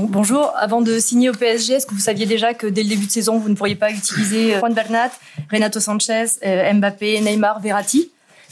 Donc, bonjour, avant de signer au PSG, est-ce que vous saviez déjà que dès le début de saison, vous ne pourriez pas utiliser Juan Bernat, Renato Sánchez, Mbappé, Neymar, Verratti?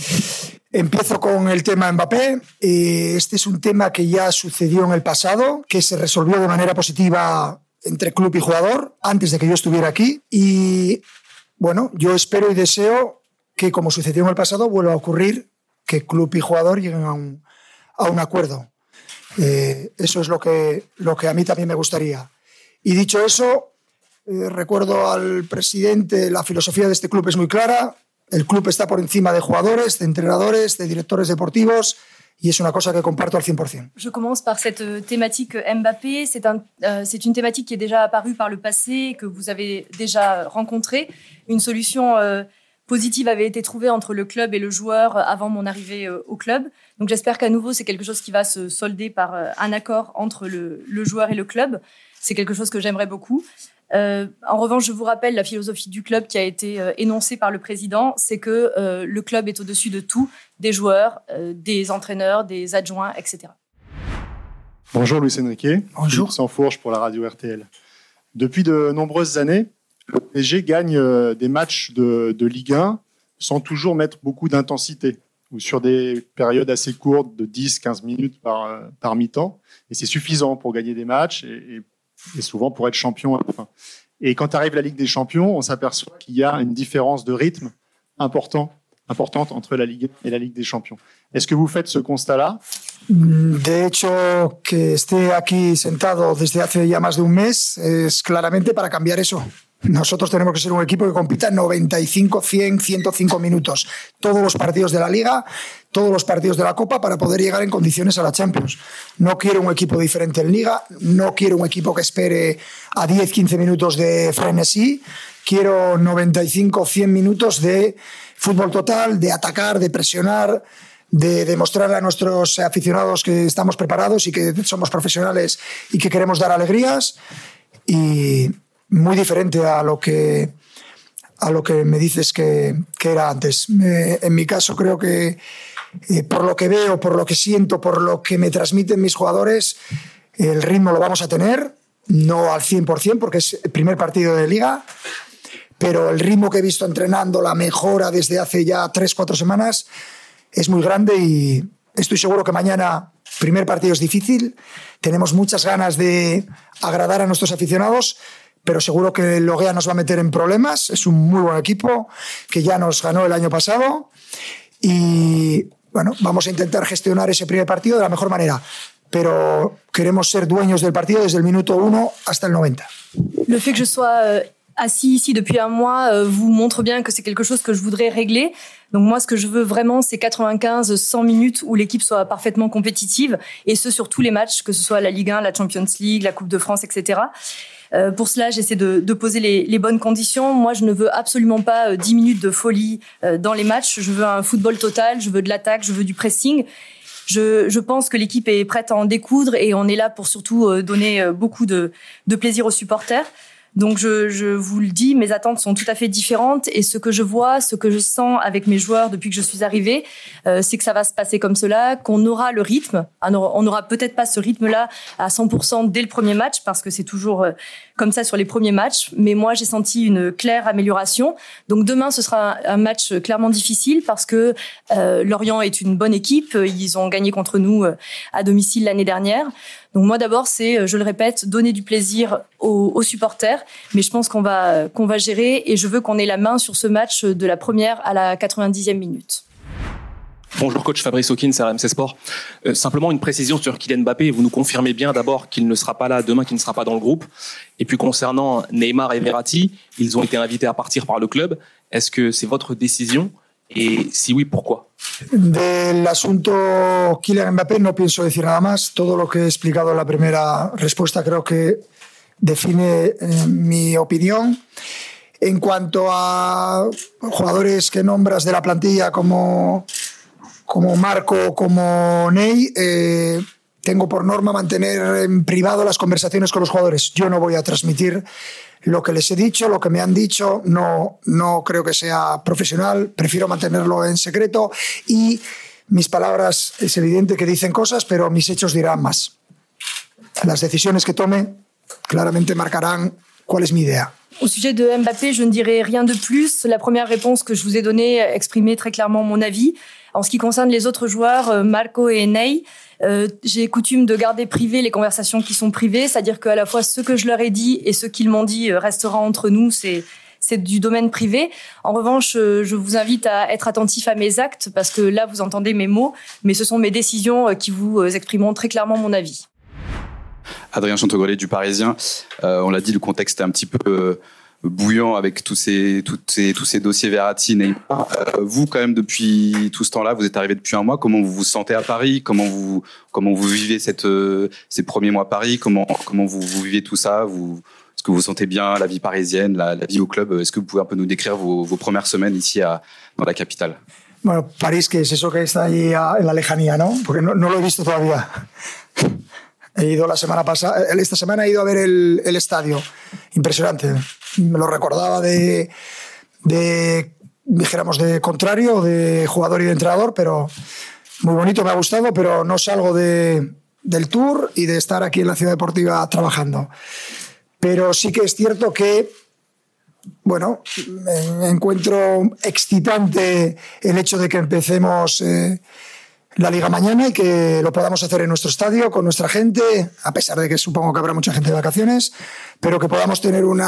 Empiezo con el tema Mbappé. Este es un tema que ya sucedió en el pasado, que se resolvió de manera positiva entre club y jugador antes de que yo estuviera aquí. Y bueno, yo espero y deseo que, como sucedió en el pasado, vuelva a ocurrir que club y jugador lleguen a un acuerdo. Eso es lo que a mí también me gustaría. Y dicho eso, recuerdo al presidente, la filosofía de este club es muy clara. El club está por encima de jugadores, de entrenadores, de directores deportivos, y es una cosa que comparto al 100%. Je commence par cette thématique Mbappé. C'est une thématique qui est déjà apparue par le passé, que vous avez déjà rencontrée. Une solution positive avait été trouvée entre le club et le joueur avant mon arrivée au club. Donc j'espère qu'à nouveau, c'est quelque chose qui va se solder par un accord entre le joueur et le club. C'est quelque chose que j'aimerais beaucoup. En revanche, je vous rappelle la philosophie du club qui a été énoncée par le président, c'est que le club est au-dessus de tout, des joueurs, des entraîneurs, des adjoints, etc. Bonjour Luis Enrique. Bonjour. Sansfourche pour la radio RTL. Depuis de nombreuses années, le PSG gagne des matchs de Ligue 1 sans toujours mettre beaucoup d'intensité, ou sur des périodes assez courtes de 10-15 minutes par mi-temps. Et c'est suffisant pour gagner des matchs et souvent pour être champion à la fin. Et quand arrive la Ligue des Champions, on s'aperçoit qu'il y a une différence de rythme importante entre la Ligue et la Ligue des Champions. Est-ce que vous faites ce constat-là? De hecho, que esté aquí sentado desde hace ya más de un mes es claramente para cambiar eso. Nosotros tenemos que ser un equipo que compita 95, 100, 105 minutos. Todos los partidos de la Liga, todos los partidos de la Copa para poder llegar en condiciones a la Champions. No quiero un equipo diferente en Liga, no quiero un equipo que espere a 10, 15 minutos de frenesí. Quiero 95, 100 minutos de fútbol total, de atacar, de presionar, de demostrarle a nuestros aficionados que estamos preparados y que somos profesionales y que queremos dar alegrías. Y muy diferente a lo que me dices que era antes. En mi caso creo que por lo que veo, por lo que siento, por lo que me transmiten mis jugadores, el ritmo lo vamos a tener, no al 100% porque es el primer partido de Liga, pero el ritmo que he visto entrenando, la mejora desde hace ya 3-4 semanas es muy grande y estoy seguro que mañana, primer partido es difícil, tenemos muchas ganas de agradar a nuestros aficionados, pero seguro que el Loguea nos va a meter en problemas. Es un muy buen equipo que ya nos ganó el año pasado y bueno, vamos a intentar gestionar ese primer partido de la mejor manera, pero queremos ser dueños del partido desde el minuto 1 hasta el 90. Le fait que je sois assis ici depuis un mois vous montre bien que c'est quelque chose que je voudrais régler. Donc moi, ce que je veux vraiment, c'est 95-100 minutes où l'équipe soit parfaitement compétitive, et ce sur tous les matchs, que ce soit la Ligue 1, la Champions League, la Coupe de France, etc. Pour cela, j'essaie de poser les bonnes conditions. Moi, je ne veux absolument pas 10 minutes de folie dans les matchs. Je veux un football total, je veux de l'attaque, je veux du pressing. Je pense que l'équipe est prête à en découdre et on est là pour surtout donner beaucoup de plaisir aux supporters. Donc je vous le dis, mes attentes sont tout à fait différentes et ce que je vois, ce que je sens avec mes joueurs depuis que je suis arrivée, c'est que ça va se passer comme cela, qu'on aura le rythme. On n'aura peut-être pas ce rythme-là à 100% dès le premier match parce que c'est toujours comme ça sur les premiers matchs. Mais moi, j'ai senti une claire amélioration. Donc demain, ce sera un match clairement difficile parce que Lorient est une bonne équipe. Ils ont gagné contre nous à domicile l'année dernière. Donc moi d'abord, c'est, je le répète, donner du plaisir aux supporters, mais je pense qu'on va gérer et je veux qu'on ait la main sur ce match de la première à la 90e minute. Bonjour coach, Fabrice Hawkins, RMC Sport. Simplement une précision sur Kylian Mbappé. Vous nous confirmez bien d'abord qu'il ne sera pas là demain, qu'il ne sera pas dans le groupe. Et puis concernant Neymar et Verratti, ils ont été invités à partir par le club. Est-ce que c'est votre décision? Et si oui, pourquoi? Del asunto Kylian Mbappé no pienso decir nada más. Todo lo que he explicado en la primera respuesta creo que define mi opinión. En cuanto a jugadores que nombras de la plantilla como Marco, como Ney, tengo por norma mantener en privado las conversaciones con los jugadores. Yo no voy a transmitir lo que les he dicho, lo que me han dicho, no creo que sea profesional, prefiero mantenerlo en secreto y mis palabras es evidente que dicen cosas, pero mis hechos dirán más. las decisiones que tome claramente marcarán cuál es mi idea. Au sujet de Mbappé, je ne dirai rien de plus. La première réponse que je vous ai donnée exprimait très clairement mon avis. En ce qui concerne les autres joueurs, Marco et Ney, j'ai coutume de garder privées les conversations qui sont privées, c'est-à-dire qu'à la fois ce que je leur ai dit et ce qu'ils m'ont dit restera entre nous, c'est du domaine privé. En revanche, je vous invite à être attentif à mes actes parce que là, vous entendez mes mots, mais ce sont mes décisions qui vous exprimeront très clairement mon avis. Adrien Chantegrelet du Parisien. On l'a dit, le contexte est un petit peu bouillant avec tous ces dossiers Verratti, Neymar. Vous, quand même, depuis tout ce temps-là, vous êtes arrivé depuis un mois. Comment vous vous sentez à Paris ? Comment vous vivez ces premiers mois à Paris ? Comment vous vivez tout ça ? Est-ce que vous sentez bien la vie parisienne, la vie au club ? Est-ce que vous pouvez un peu nous décrire vos premières semaines ici dans la capitale ? Bueno, París, que es eso que está allí en la lejanía, ¿no? Porque no lo he visto todavía. He ido la semana pasada, esta semana he ido a ver el estadio. Impresionante. Me lo recordaba dijéramos, de contrario, de jugador y de entrenador, pero muy bonito, me ha gustado, pero no salgo del tour y de estar aquí en la Ciudad Deportiva trabajando. Pero sí que es cierto que, bueno, me encuentro excitante el hecho de que empecemos la Liga mañana y que lo podamos hacer en nuestro estadio, con nuestra gente, a pesar de que supongo que habrá mucha gente de vacaciones, pero que podamos tener un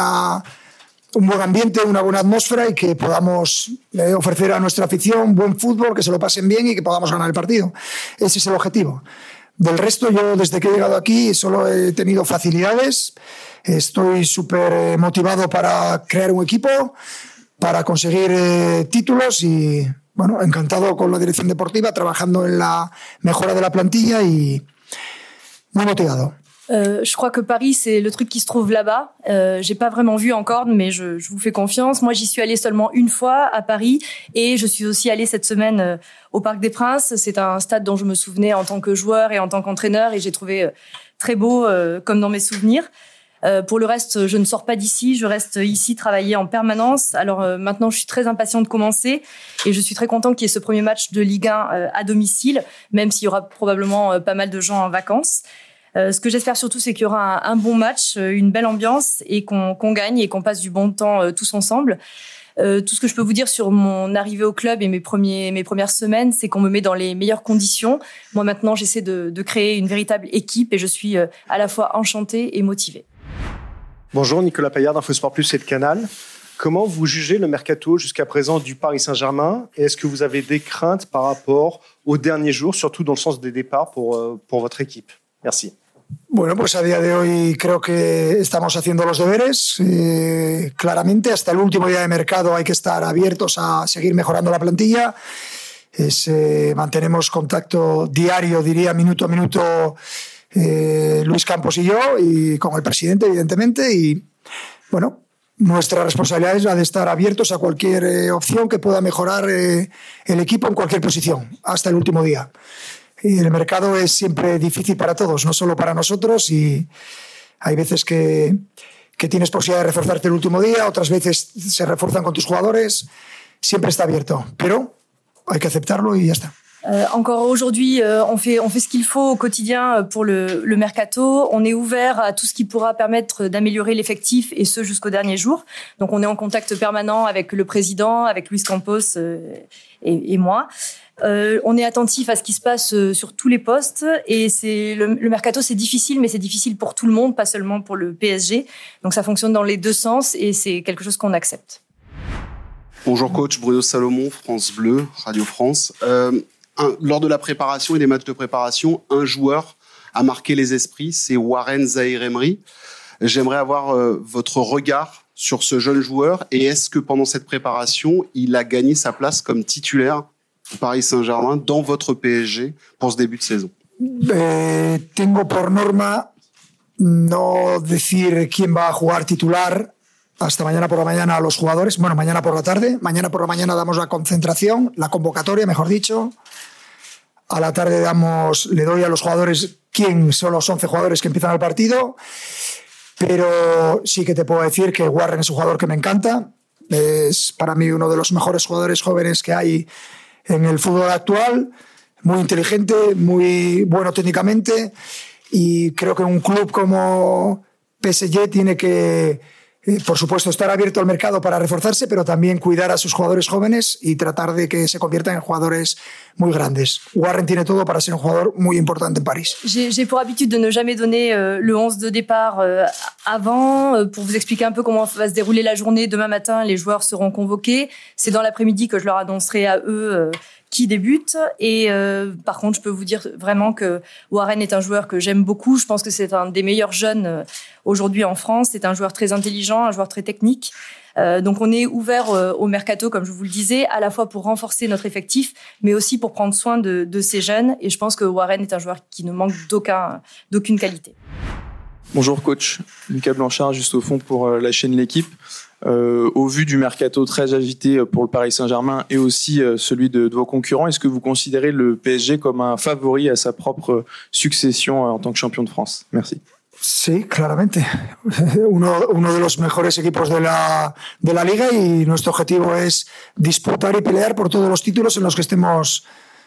buen ambiente, una buena atmósfera y que podamos ofrecer a nuestra afición buen fútbol, que se lo pasen bien y que podamos ganar el partido. Ese es el objetivo. Del resto, yo desde que he llegado aquí solo he tenido facilidades. Estoy súper motivado para crear un equipo, para conseguir títulos y, bueno, encantado con la dirección deportiva, trabajando en la mejora de la plantilla y muy motivado. Je crois que Paris, c'est le truc qui se trouve là-bas. J'ai pas vraiment vu encore, mais je vous fais confiance. Moi, j'y suis allée seulement une fois à Paris et je suis aussi allée cette semaine au Parc des Princes. C'est un stade dont je me souvenais en tant que joueur et en tant qu'entraîneur et j'ai trouvé très beau comme dans mes souvenirs. Pour le reste, je ne sors pas d'ici, je reste ici travailler en permanence. Alors maintenant, je suis très impatiente de commencer et je suis très contente qu'il y ait ce premier match de Ligue 1 à domicile, même s'il y aura probablement pas mal de gens en vacances. Ce que j'espère surtout, c'est qu'il y aura un bon match, une belle ambiance et qu'on gagne et qu'on passe du bon temps tous ensemble. Tout ce que je peux vous dire sur mon arrivée au club et mes premières semaines, c'est qu'on me met dans les meilleures conditions. Moi maintenant, j'essaie de créer une véritable équipe et je suis à la fois enchantée et motivée. Bonjour, Nicolas Paillard d'Infosport Plus et de Canal. Comment vous jugez le mercato jusqu'à présent du Paris Saint-Germain et est-ce que vous avez des craintes par rapport aux derniers jours, surtout dans le sens des départs pour votre équipe ? Merci. Bueno, pues a día de hoy creo que estamos haciendo los deberes. Claramente, hasta el último día de mercado hay que estar abiertos a seguir mejorando la plantilla. Mantenemos contacto diario, diría, minuto a minuto, Luis Campos y yo, y con el presidente, evidentemente. Y bueno, nuestra responsabilidad es la de estar abiertos a cualquier opción que pueda mejorar el equipo en cualquier posición, hasta el último día. Y el mercado es siempre difícil para todos, no solo para nosotros, y hay veces que tienes posibilidad de reforzarte el último día, otras veces se refuerzan con tus jugadores, siempre está abierto, pero hay que aceptarlo y ya está. Encore aujourd'hui, on fait ce qu'il faut au quotidien pour le mercato. On est ouvert à tout ce qui pourra permettre d'améliorer l'effectif et ce jusqu'au dernier jour. Donc on est en contact permanent avec le président, avec Luis Campos et moi. On est attentif à ce qui se passe sur tous les postes et le mercato, c'est difficile, mais c'est difficile pour tout le monde, pas seulement pour le PSG. Donc ça fonctionne dans les deux sens et c'est quelque chose qu'on accepte. Bonjour coach, Bruno Salomon, France Bleu, Radio France. Lors de la préparation et des matchs de préparation, un joueur a marqué les esprits, c'est Warren Zaïre-Emery. J'aimerais avoir votre regard sur ce jeune joueur et est-ce que pendant cette préparation, il a gagné sa place comme titulaire au Paris Saint-Germain dans votre PSG pour ce début de saison? Tengo por norma no decir quién va a jugar titular hasta mañana por la mañana a los jugadores. Bueno, mañana por la tarde. Mañana por la mañana damos la concentración, la convocatoria, mejor dicho. A la tarde le doy a los jugadores quién son los 11 jugadores que empiezan el partido. Pero sí que te puedo decir que Warren es un jugador que me encanta. Es para mí uno de los mejores jugadores jóvenes que hay en el fútbol actual. Muy inteligente, muy bueno técnicamente. y creo que un club como PSG tiene que, por supuesto, estar abierto al mercado para reforzarse, pero también cuidar a sus jugadores jóvenes y tratar de que se conviertan en jugadores muy grandes. Warren tiene todo para ser un jugador muy importante en París. J'ai pour habitude de ne jamais donner le 11 de départ avant. Pour vous expliquer un peu comment va se dérouler la journée, demain matin, les joueurs seront convoqués. C'est dans l'après-midi que je leur annoncerai à eux qui débute. Et par contre, je peux vous dire vraiment que Warren est un joueur que j'aime beaucoup. Je pense que c'est un des meilleurs jeunes aujourd'hui en France. C'est un joueur très intelligent, un joueur très technique. Donc on est ouvert au mercato, comme je vous le disais, à la fois pour renforcer notre effectif, mais aussi pour prendre soin de ces jeunes. Et je pense que Warren est un joueur qui ne manque d'aucune qualité. Bonjour coach, Lucas Blanchard, juste au fond pour la chaîne L'Équipe. Au vu du mercato très agité pour le Paris Saint-Germain et aussi celui de vos concurrents, est-ce que vous considérez le PSG comme un favori à sa propre succession en tant que champion de France? Merci. Sí, claramente. Uno de los mejores equipos de la liga y nuestro objetivo es disputar y pelear por todos los títulos en los que estemos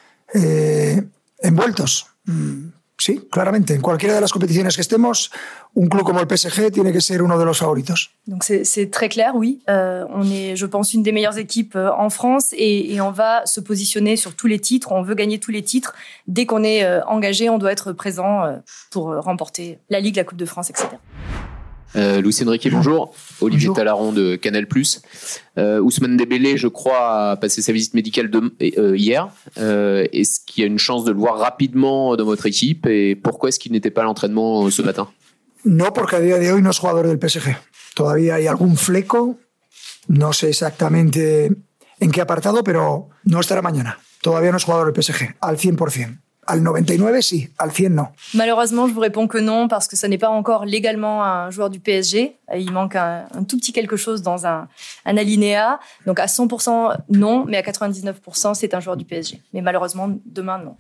envueltos. Sí, claramente. En cualquiera de las competiciones que estemos, un club como el PSG tiene que ser uno de los favoritos. Donc c'est très clair, oui. On est, je pense, une des meilleures équipes en France et on va se positionner sur tous les titres. On veut gagner tous les titres. Dès qu'on est engagé, on doit être présent pour remporter la Ligue, la Coupe de France, etc. Luis Enrique, bonjour. Olivier Talaron de Canal+. Ousmane Dembélé, je crois, a passé sa visite médicale hier. Est-ce qu'il y a une chance de le voir rapidement dans votre équipe et pourquoi est-ce qu'il n'était pas à l'entraînement ce matin? No, porque a día de hoy no es jugador del PSG. Todavía hay algún fleco, no sé exactamente en qué apartado, pero no estará mañana. Todavía no es jugador del PSG, al 100%. Al 99, sí. Al 100, non. Malheureusement, je vous réponds que non, parce que ça n'est pas encore légalement un joueur du PSG. Il manque un tout petit quelque chose dans un alinéa. Donc à 100%, non, mais à 99%, c'est un joueur du PSG. Mais malheureusement, demain, non.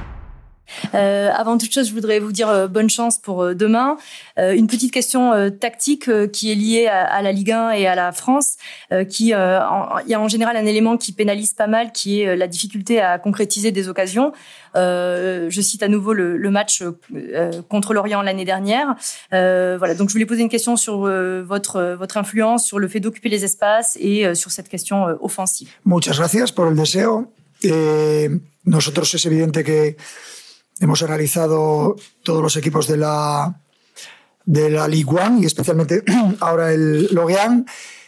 Avant toute chose, je voudrais vous dire bonne chance pour demain. Une petite question tactique qui est liée à la Ligue 1 et à la France. Il y a en général un élément qui pénalise pas mal, qui est la difficulté à concrétiser des occasions. Je cite à nouveau le match contre Lorient l'année dernière. Voilà, donc je voulais poser une question sur votre influence, sur le fait d'occuper les espaces et sur cette question offensive. Muchas gracias por el deseo. Nosotros es evidente que hemos analizado todos los equipos de la Ligue 1 y especialmente ahora el Lorient.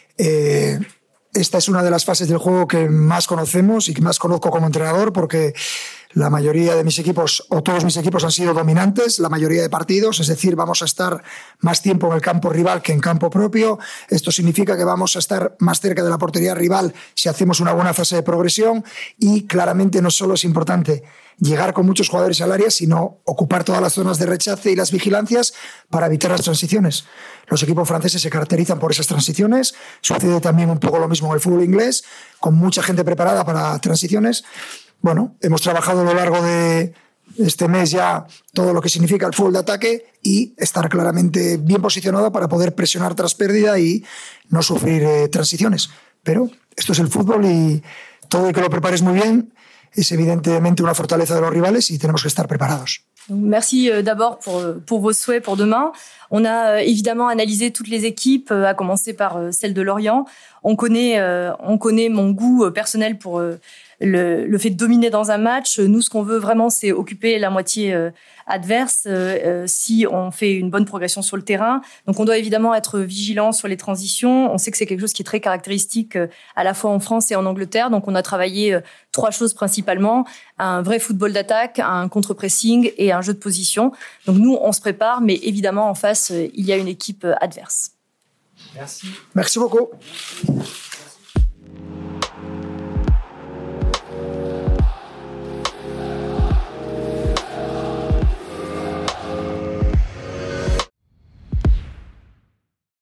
Esta es una de las fases del juego que más conocemos y que más conozco como entrenador porque la mayoría de mis equipos o todos mis equipos han sido dominantes la mayoría de partidos, es decir, vamos a estar más tiempo en el campo rival que en campo propio. Esto significa que vamos a estar más cerca de la portería rival si hacemos una buena fase de progresión y claramente no solo es importante llegar con muchos jugadores al área, sino ocupar todas las zonas de rechace y las vigilancias para evitar las transiciones. Los equipos franceses se caracterizan por esas transiciones. Sucede también un poco lo mismo en el fútbol inglés, con mucha gente preparada para transiciones. Bueno, hemos trabajado a lo largo de este mes ya todo lo que significa el fútbol de ataque y estar claramente bien posicionado para poder presionar tras pérdida y no sufrir transiciones. Pero esto es el fútbol y todo el que lo prepares muy bien es évidemment una fortaleza de los rivales y tenemos que estar preparados. Merci d'abord pour vos souhaits pour demain. On a évidemment analysé toutes les équipes, à commencer par celle de Lorient. On connaît mon goût personnel pour le fait de dominer dans un match. Nous, ce qu'on veut vraiment, c'est occuper la moitié adverse si on fait une bonne progression sur le terrain. Donc, on doit évidemment être vigilant sur les transitions. On sait que c'est quelque chose qui est très caractéristique à la fois en France et en Angleterre. Donc, on a travaillé 3 choses principalement. Un vrai football d'attaque, un contre-pressing et un jeu de position. Donc, nous, on se prépare, mais évidemment, en face, il y a une équipe adverse. Merci. Merci beaucoup.